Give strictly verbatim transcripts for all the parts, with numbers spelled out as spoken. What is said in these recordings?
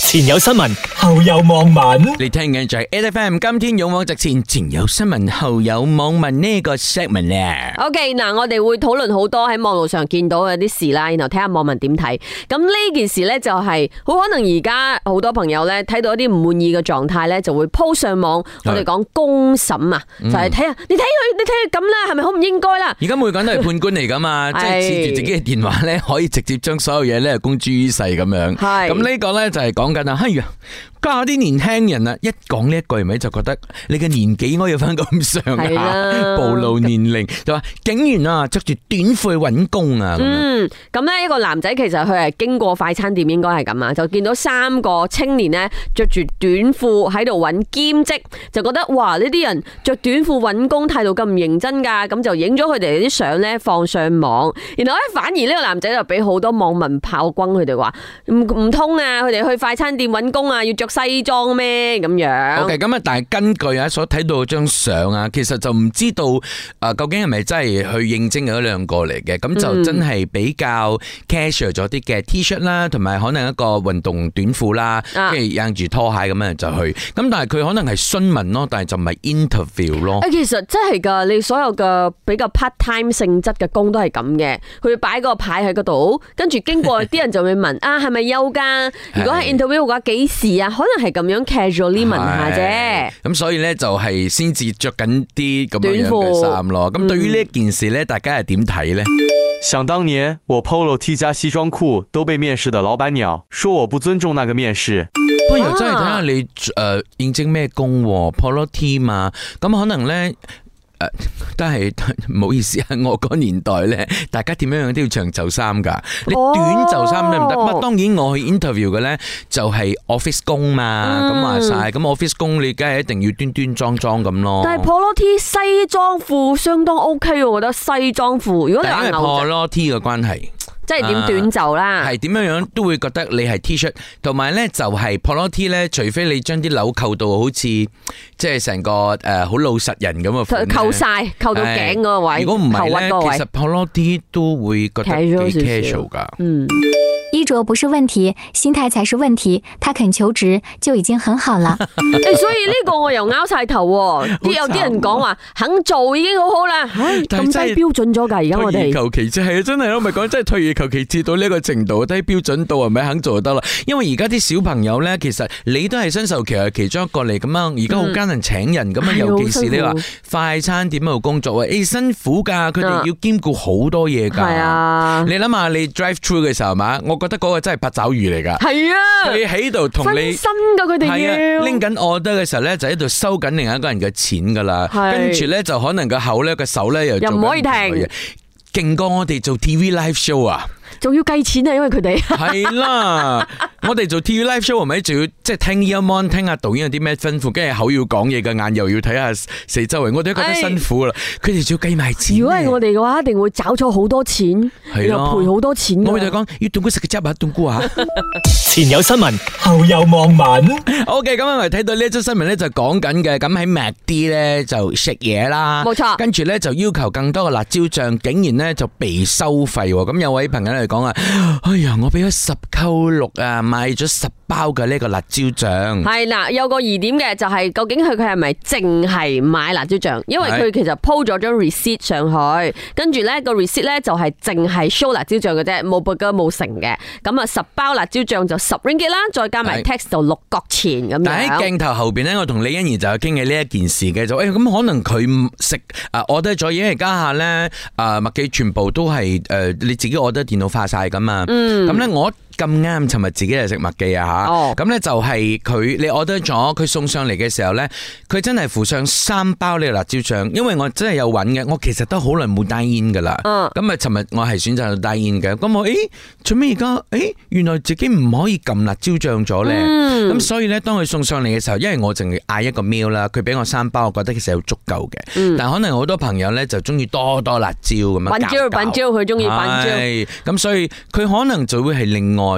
前有新聞，後有網民。 你聽緊就係 A F M， 今天勇往直前，前有新聞，後有網民呢個 segment 咧。 OK， 嗱，我哋會討論好多喺網絡上見到嘅啲事啦，然後睇下網民點睇。咁呢件事咧就係好可能而家好多朋友咧睇到一啲唔滿意嘅狀態咧，就會 po 上網。我哋講公審啊，就係睇下你睇佢，你睇佢咁啦，係咪好唔應該啦？ 而家每個人都係判官嚟噶嘛，即係持住自己嘅電話咧，可以直接將所有嘢咧公諸於世咁樣。係咁呢個咧就係講緊啊，哎呀！家下啲年輕人啊，一講呢一句咪就覺得你嘅年紀應該要翻咁上下，暴露年齡就話竟然啊着住短褲去揾工啊！ 嗯，咁咧一個男仔其實佢係經過快餐店，應該係咁啊，就見到三個青年咧着住短褲喺度揾兼職，就覺得哇呢啲人着短褲揾工態度咁唔認真噶，咁就影咗佢哋啲相咧放上網，然後咧反而呢個男仔就俾好多網民炮轟佢哋話唔唔通啊，佢哋去快餐店揾工啊要着西裝咩咁樣 ？OK， 咁啊，但係根據啊所睇到張相啊，其實就唔知道啊究竟係咪真係去應徵嗰兩個嚟嘅？咁就真係比較 casual 咗啲嘅 T 恤啦，同埋可能一個運動短褲啦，跟住印住拖鞋咁樣就去。咁但係佢可能係詢問咯，但係就唔係 interview 咯。 誒，其實真係噶，你所有嘅比較 part time 性質嘅工都係咁嘅，佢會擺個牌喺嗰度，跟住經過啲人就會問啊係咪有噶？如果係 interview 嘅話，幾時啊？可能係咁樣 casually 問下啫。 咁所以咧就係先至着緊啲咁樣嘅衫咯。咁對於呢一件事咧，大家係點睇咧？ 想當年我 Polo T 加西裝褲都被面試的老闆鳥說我不尊重那個面試。 不過又真係睇下你誒應徵咩工 Polo T 嘛，咁可能咧。誒，但係唔好意思啊，我嗰年代咧，大家點樣樣都要長袖衫噶，你短袖衫得唔得？不過當然我去 interview 嘅咧就係 office 工嘛，咁話晒，咁 office 工你梗係一定要端端莊莊咁咯。 但係 Polo T 西裝褲相當 OK， 我覺得西裝褲如果你話 Polo T 嘅關係。 即係點短袖啦， 係點樣樣都會覺得你係 T 恤，同埋咧就係 Polo T 咧，除非你將啲紐扣到好似即係成個誒好老實人咁啊， 扣晒扣到頸嗰個位， 如果唔係咧，其實 Polo T 都會覺得幾 casual 噶。 嗯， 衣着不是問題，心態才是問題。他肯求職就已經很好啦。 所以呢個我又拗晒頭，啲有啲人講話肯做已經好好啦，咁低標準咗噶，而家我哋退而求其次係啊，真係我咪講真係退而求其次到呢個程度，低標準度係咪肯做就得啦？因為而家啲小朋友咧，其實你都係新秀期係其中一個嚟咁樣，而家好艱難請人咁樣，嗯、尤其是你話快餐店度工作啊，誒、欸、辛苦噶，佢哋要兼顧好多嘢噶。係啊，你諗下你 drive through 嘅時候嘛，我覺得嗰個真係八爪魚嚟噶。係啊，佢喺度同你分身噶，佢哋要拎緊 order 嘅時候咧，就喺度收緊另一個人嘅錢噶啦，跟住咧就可能個口咧個手咧又又唔可以停， 勁過我哋做 T V live show 啊！ 仲要計錢啊，因為佢哋係啦，我哋做 T V live show 係咪仲要即係聽 earmon 聽下導演有啲咩吩咐，跟住口要講嘢嘅，眼又要睇下四周圍，我哋都覺得辛苦啦。佢哋仲要計埋錢。如果係我哋嘅話，一定會找錯好多錢，又賠好多錢。 我咪就講要凍菇食嘅汁啊，凍菇啊！ 前有新聞，後有網民。 OK， 咁我咪睇到呢一則新聞咧，就講緊嘅，咁喺 McD 咧就食嘢啦， 冇錯。 跟住咧就要求更多嘅辣椒醬，竟然咧就被收費。咁有位朋友嚟講啊，哎呀，我俾咗十扣六啊，買咗十包嘅呢個辣椒醬。係啦，有個疑點嘅就係、是、究竟佢佢係咪淨係買辣椒醬？因為佢其實 po 咗張 receipt 上去，跟住咧個 receipt 咧就係淨係 show 辣椒醬嘅啫，冇 burger 冇成嘅。咁啊，十包辣椒醬就十 ringgit 啦，再加埋 tax 就六角錢咁樣。 但喺鏡頭後邊咧，我同李欣怡就有傾嘅呢一件事嘅，就誒咁、欸、可能佢食啊 order 咗嘢嚟家下咧啊麥記全部都係誒、呃、你自己 order 電腦化晒噶嘛。嗯，咁咧我。咁啱，尋日自己係食麥記啊吓，咁咧就係佢你 order 咗，佢送上嚟嘅時候咧，佢真係附上三包呢個辣椒醬，因為我真係有揾嘅，我其實都好耐冇 dine in 噶啦，咁啊尋日我係選擇到 dine in 嘅，咁我誒做咩而家誒原來自己唔可以撳辣椒醬咗咧，咁、嗯、所以咧當佢送上嚟嘅時候，因為我淨係嗌一個 meal 啦，佢俾我三包，我覺得其實好足夠嘅，嗯、但係可能好多朋友咧就中意多多辣椒咁樣， 品椒品椒佢中意品椒， 咁所以佢可能就會係另外。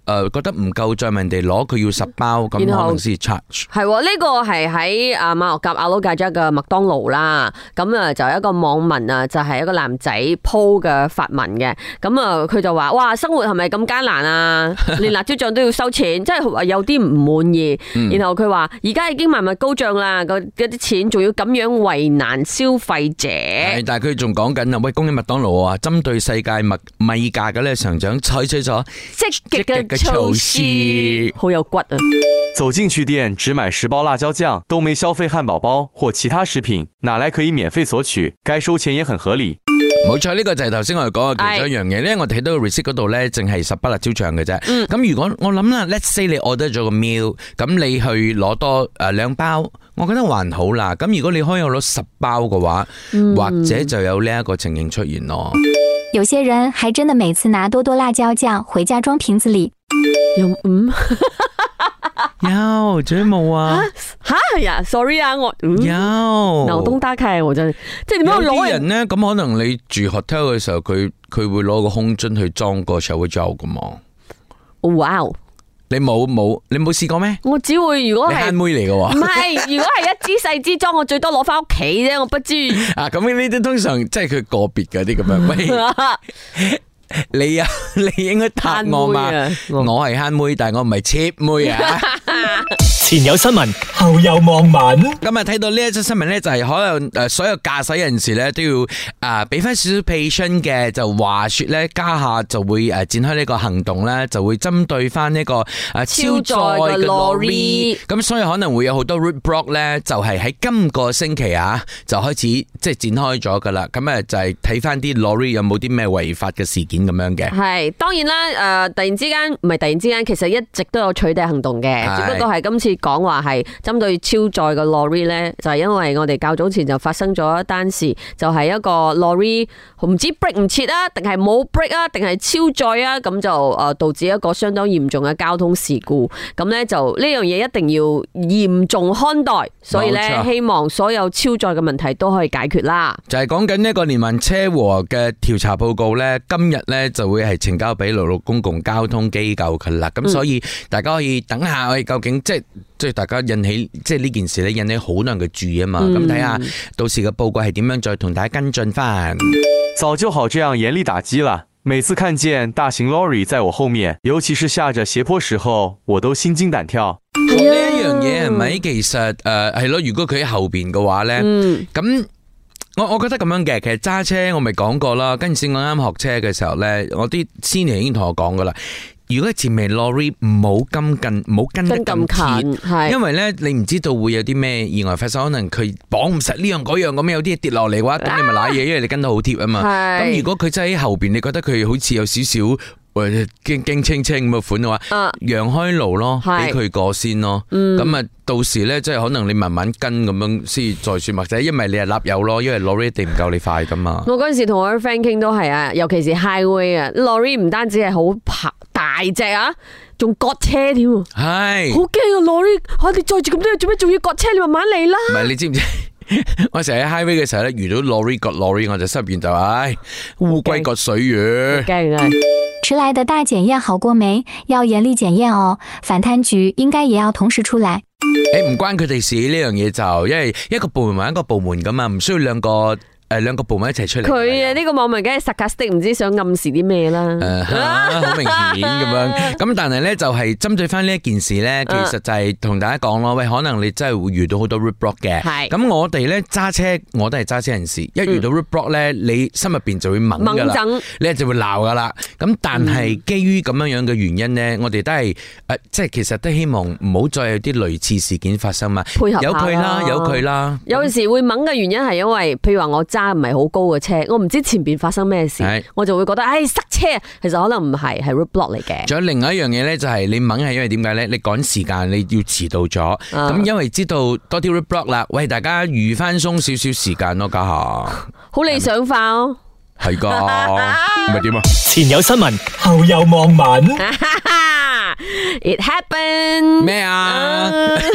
誒覺得唔夠再問人哋攞，佢要十包咁可能先 charge。 係喎，呢個係喺啊馬六甲阿魯界州嘅麥當勞啦。咁啊就有一個網民啊，就係一個男仔 po 嘅發文嘅。咁啊佢就話：哇，生活係咪咁艱難啊？連辣椒醬都要收錢，即係有啲唔滿意。然後佢話：而家已經萬物高漲啦，嗰啲錢仲要咁樣為難消費者。 係，但係佢仲講緊啊，喂，恭喜麥當勞啊，針對世界物米價嘅咧上漲，採取咗積極嘅措施，好有骨啊！ 走進去店只買十包辣椒醬，都沒消費漢堡包或其他食品，哪來可以免費索取？該收錢也很合理。 冇錯，呢個就係頭先我哋講嘅其中一樣嘢，因為我睇到個 receipt 嗰度咧，淨係十包辣椒醬嘅啫。咁、嗯、如果我諗啦 ，let's say 你 order 咗個 meal，咁你去攞多誒兩包，我覺得還好啦。咁如果你可以攞十包嘅話， 嗯、 或者就有呢一個情形出現咯。 有些人還真的每次拿多多辣椒醬回家裝瓶子裡。 有嗯。 有，仲有冇啊？ 吓呀 ，sorry 啊，我、嗯、 有腦洞大開，我真係即係點樣攞？ 有啲人咧，咁可能你住 hotel 嘅時候，佢佢會攞個空樽去裝個 shower gel 噶嘛？ 哇！ 你冇冇你冇試過咩？ 我只會如果係慳妹嚟嘅喎， 唔係，如果係一支細支裝，我最多攞翻屋企啫，我不知。 啊，咁呢啲通常即係佢個別嗰啲咁樣。喂你啊，你應該答我嘛？我係慳妹，但係我唔係 cheap 妹啊。 前有新聞，後有網民。 今日睇到呢一則新聞咧，就係可能誒所有駕駛人士咧都要啊俾翻少少 patience 嘅，就話說咧家下就會誒展開呢個行動咧，就會針對翻呢個誒超載嘅 lorry。咁所以可能會有好多 roadblock 咧，就係喺今個星期啊就開始即係展開咗噶啦。咁啊就係睇翻啲 lorry 有冇啲咩違法嘅事件咁樣嘅。 係當然啦，誒突然之間唔係突然之間，其實一直都有取締行動嘅，只不過係今次。講話係針對超載嘅 lorry 咧，就係因為我哋較早前就發生咗一單事，就係一個 lorry 唔知 break 唔切啊，定係冇 break 啊，定係超載啊，咁就誒導致一個相當嚴重嘅交通事故。咁咧就呢樣嘢一定要嚴重看待，所以咧希望所有超載嘅問題都可以解決啦。 就係講緊呢個連環車禍嘅調查報告咧，今日咧就會係呈交俾陸路公共交通機構噶啦。咁所以大家可以等下，我哋究竟即係。即係大家引起即係呢件事咧，引起好多人嘅注意啊嘛。咁睇下到時嘅報告係點樣，再同大家跟進翻。 早就好這樣嚴厲打擊了。每次看見大型 lorry 在我後面，尤其是下着斜坡時候，我都心驚膽跳。 呢一樣嘢係咪其實誒係咯？如果佢喺後邊嘅話咧，咁、嗯、我我覺得咁樣嘅。其實揸車我咪講過啦，跟住我啱學車嘅時候咧，我啲 senior 已經同我講噶啦。如果前面 lorry 唔好跟近，唔好跟得咁貼，因為咧你唔知道會有啲咩意外發生，可能佢綁唔實呢樣嗰樣咁，有啲嘢跌落嚟嘅話，咁你咪瀨嘢，因為你跟得好貼啊嘛。咁如果佢真係喺後邊，你覺得佢好似有少少誒驚驚青青咁嘅款嘅話，讓開路咯，俾佢過先咯。咁啊，到時咧即係可能你慢慢跟咁樣先再算，或者因為你係立油咯，因為 lorry 一定唔夠你快噶嘛。我嗰陣時同我啲 friend 傾都係啊，尤其是 highway 啊 ，lorry 唔單止係好爬。大隻啊，仲割車添，係好驚啊 lorry，我哋載住咁多嘢做咩？仲要割車？你慢慢嚟啦。唔係你知唔知？我成日喺 highway 嘅時候咧，遇到 lorry 割 lorry， 我就心入邊就唉，烏龜割水魚。驚啊！ 遲來的大檢驗好過沒？要嚴厲檢驗哦。反貪局應該也要同時出來。 誒，唔關佢哋事呢樣嘢就，因為一個部門還一個部門噶嘛，唔需要兩個。誒，兩個部門一齊出嚟。佢啊，呢個網民梗係 sarcastic，唔知想暗示啲咩啦。誒，好明顯咁樣。咁但係咧，就係針對翻呢一件事咧，其實就係同大家講咯。喂，可能你真係會遇到好多 roadblock 嘅。係。咁我哋咧揸車，我都係揸車人士。一遇到 roadblock 咧，你心入邊就會猛噶啦，你就會鬧噶啦。咁但係基於咁樣樣嘅原因咧，我哋都係誒，即係其實都希望唔好再有啲類似事件發生嘛。配合下啦。有佢啦，有佢啦。有陣時會猛嘅原因係因為，譬如話我揸唔係好高嘅車，我唔知前邊發生咩事，我就會覺得，唉、哎，塞車。其實可能唔係，係 roadblock 嚟嘅。仲有另外一樣嘢咧，就係你猛係因為點解咧？你趕時間，你要遲到咗。咁、啊、因為知道多啲 roadblock 啦，喂，大家預翻鬆少少時間咯，家下。好理想化哦。係噶，唔係點啊？前有新聞，後有網民。 It happened 咩啊？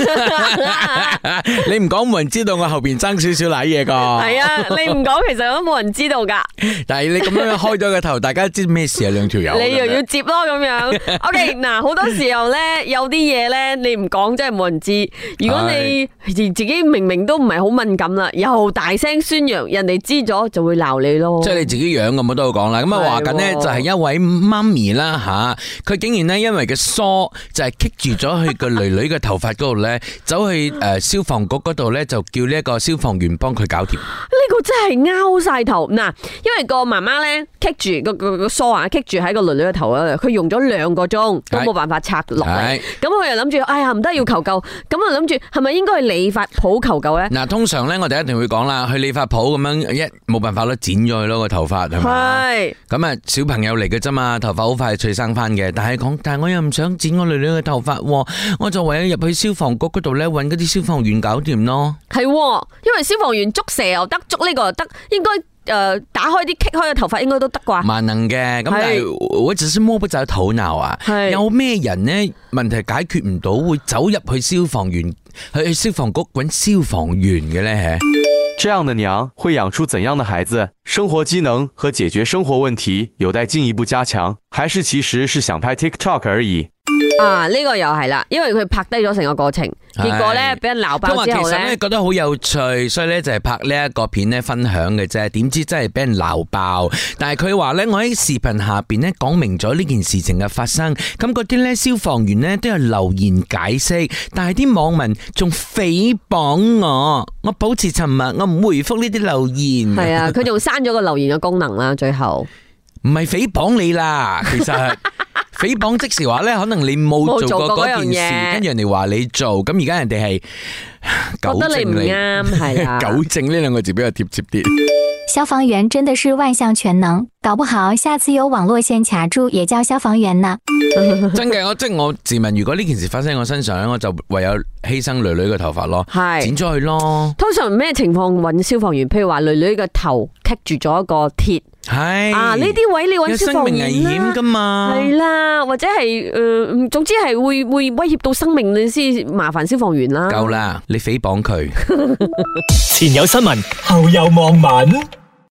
你唔講冇人知道我後邊爭少少瀨嘢噶。 係啊，你唔講其實都冇人知道噶。 但係你咁樣開咗個頭，大家知咩事啊？兩條友。 你又要接咯咁樣。OK， 嗱，好多時候咧，有啲嘢咧，你唔講真係冇人知。如果你自己明明都唔係好敏感啦，又大聲宣揚，人哋知咗就會鬧你咯。 即係你自己養咁我都好講啦。咁啊話緊呢，就係一位媽咪啦吓，佢竟然呢，因為個梳就係棘住咗佢個女女嘅頭髮嗰度咧，走去誒消防局嗰度咧，就叫呢一個消防員幫佢搞掂。 呢個真係拗晒頭嗱，因為個媽媽咧棘住個個個梳啊，棘住喺個女女嘅頭嗰度，佢用咗兩個鐘都冇辦法拆落嚟。咁佢又諗住，哎呀唔得要求救，咁啊諗住係咪應該去理髮鋪求救咧？ 嗱，通常咧我哋一定會講啦，去理髮鋪咁樣一冇辦法咯，剪咗佢咯個頭髮係咪？係。咁啊小朋友嚟嘅啫嘛，頭髮好快脆生翻嘅，但係講，但係我又唔想剪我女女嘅頭髮，我就唯有入去消防局嗰度咧，搵嗰啲消防員搞掂咯。係， 因為消防員捉蛇又得，捉呢個又得，應該。誒、呃，打開啲棘開嘅頭髮應該都得啩？ 萬能嘅，咁但係我只是摸不着頭腦啊！有咩人呢？問題解決唔到，會走入去消防員去消防局揾消防員嘅咧？ 這樣的娘會養出怎樣的孩子？生活機能和解決生活問題有待進一步加強，還是其實是想拍 TikTok 而已？ 啊，呢、這個又係啦，因為佢拍低咗成個過程，結果咧俾人鬧爆之後咧， 其實咧覺得好有趣，所以咧就係拍呢一個片咧分享嘅啫。點知真係俾人鬧爆，但係佢話咧，我喺視頻下邊咧講明咗呢件事情嘅發生，咁嗰啲咧消防員咧都有留言解釋，但係啲網民仲誹謗我，我保持沉默，我唔回覆呢啲留言。 係啊，佢仲刪咗個留言嘅功能啦，最後唔係誹謗你啦，其實。誹謗即時話咧，可能你冇做過嗰件事，跟住人哋話你做，咁而家人哋係糾正你， 係啦， 糾正呢兩個字比較貼切啲。 消防員真的是萬項全能，搞不好下次有網絡線卡住也叫消防員呢。 真嘅，我即係我自問，如果呢件事發生喺我身上咧，我就唯有犧牲女女嘅頭髮咯，剪咗佢咯。通常咩情況揾消防員？譬如話女女嘅頭棘住咗一個鐵。 係啊，呢啲位你揾消防員啦，有生命危險噶嘛？係啦，或者係誒、呃，總之係會會威脅到生命，你先麻煩消防員啦。 夠啦，你誹謗佢。 前有新聞，後有網民。